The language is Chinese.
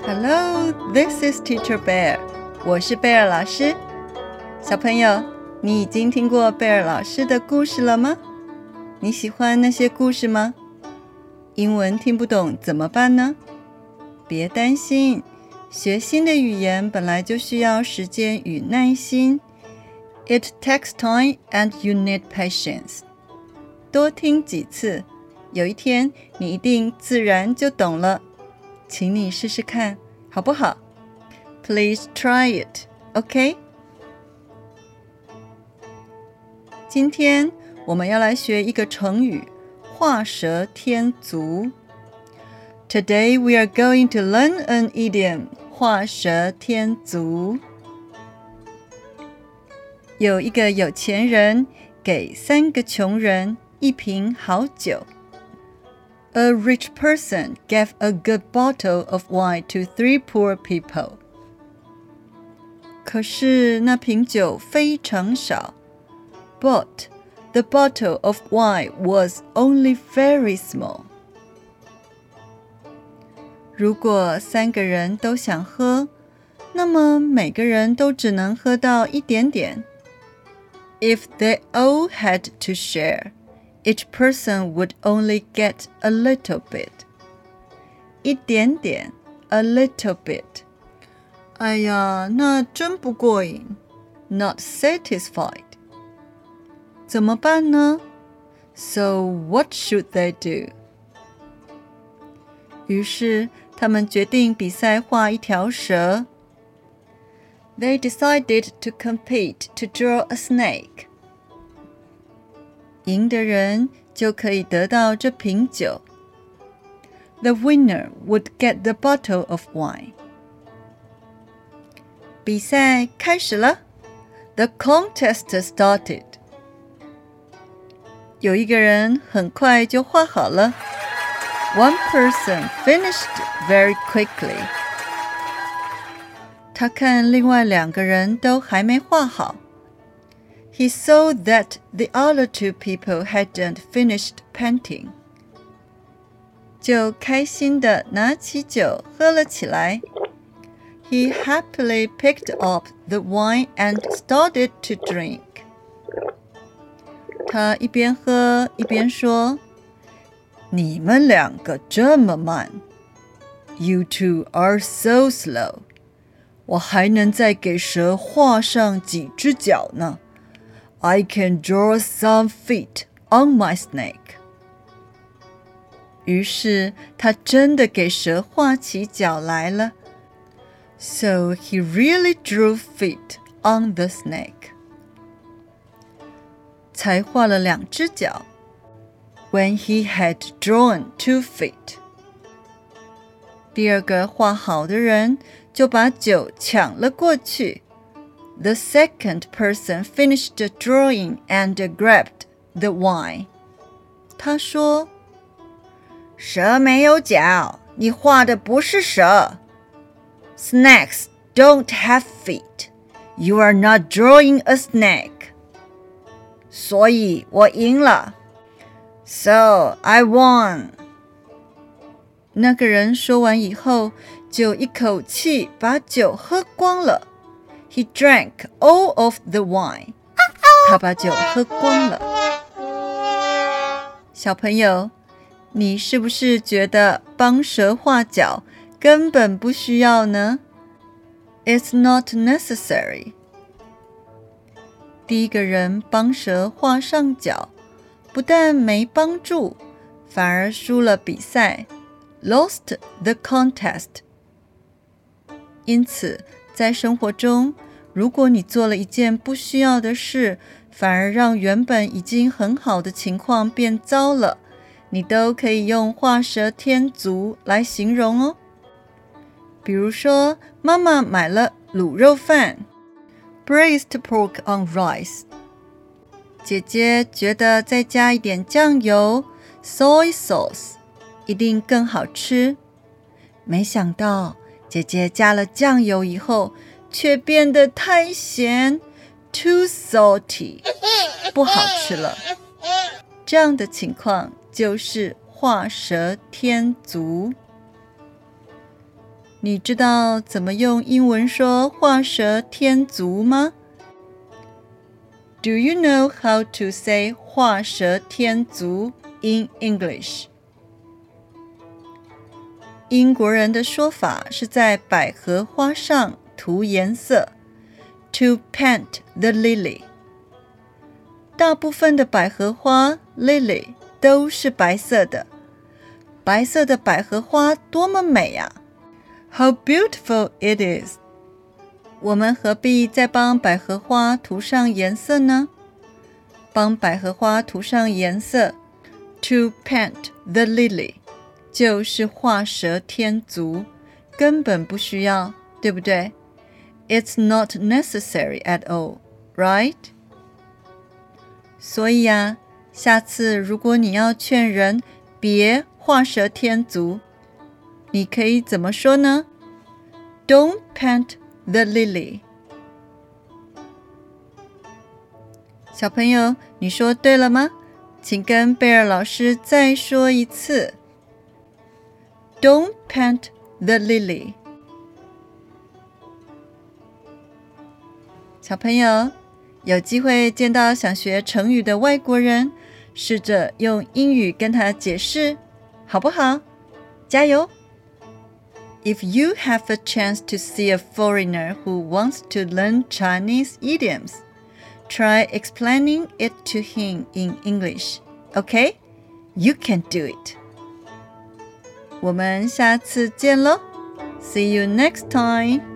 Hello, this is Teacher Bear. 我是貝爾老師。小朋友，你已經聽過貝爾老師的故事了嗎？你喜歡那些故事嗎？英文聽不懂怎麼辦呢？別擔心，學新的語言本來就需要時間與耐心。It takes time and you need patience. 多聽幾次，有一天你一定自然就懂了。請你試試看，好不好？ Please try it, OK? 今天我們要來學一個成語，畫蛇添足。Today we are going to learn an idiom, 畫蛇添足。有一個有錢人給3個窮人一瓶好酒。A rich person gave a good bottle of wine to 3 poor people. 可是那瓶酒非常少。But the bottle of wine was only very small. 如果3個人都想喝，那麼每個人都只能喝到一點點。If they all had to share, each person would only get a little bit. 一點點 a little bit. 哎呀，那真不過癮 Not satisfied. 怎麼辦呢？ So what should they do? 於是他們決定比賽畫一條蛇。They decided to compete to draw a snake. 贏的人就可以得到這瓶酒。The winner would get the bottle of wine. 比賽開始了。The contest started. 有一個人很快就畫好了。One person finished very quickly. 他看另外2個人都還沒畫好。He saw that the other 2 people hadn't finished painting. 就開心地拿起酒喝了起來。He happily picked up the wine and started to drink. 他一邊喝一邊說：“你們2個這麼慢。You two are so slow. 我還能再給蛇畫上幾隻腳呢。I can draw some feet on my snake. 於是他真的給蛇畫起腳來了。So he really drew feet on the snake. 才畫了2隻腳。When he had drawn 2 feet. 第2個畫好的人就把酒搶了過去。The second person finished the drawing and grabbed the wine. 他說：“蛇沒有腳，你畫的不是蛇。Snakes don't have feet. You are not drawing a snake. 所以我贏了。So I won.” 那個人說完以後，就一口氣把酒喝光了。He drank all of the wine. 他把酒喝光了。小朋友，你是不是覺得幫蛇畫腳根本不需要呢？ It's not necessary. 第1個人幫蛇畫上腳，不但沒幫助，反而輸了比賽。Lost the contest. 因此，在生活中，如果你做了一件不需要的事，反而讓原本已經很好的情況變糟了，你都可以用畫蛇添足來形容哦。比如說，媽媽買了滷肉飯 （braised pork on rice）， 姐姐覺得再加一點醬油 （soy sauce） 一定更好吃。沒想到姐姐加了醬油以後，卻變得太鹹 too salty， 不好吃了。這樣的情況就是畫蛇添足。 你知道怎麼用英文說畫蛇添足嗎？ Do you know how to say 畫蛇添足 in English? 英國人的說法是在百合花上塗顏色 to paint the lily. 大部分的百合花 lily 都是白色的，白色的百合花多麼美啊！ How beautiful it is! 我們何必再幫百合花塗上顏色呢？幫百合花塗上顏色 to paint the lily 就是畫蛇添足，根本不需要，對不對？ It's not necessary at all, right? 所以啊，下次如果你要勸人別畫蛇添足，你可以怎麼說呢？ Don't paint the lily. 小朋友，你說對了嗎？請跟貝爾老師再說一次。Don't paint the lily. 小朋友，有機會見到想學成語的外國人，試着用英語跟他解釋，好不好？加油！ If you have a chance to see a foreigner who wants to learn Chinese idioms, try explaining it to him in English. Okay? You can do it. 我們下次見咯。See you next time.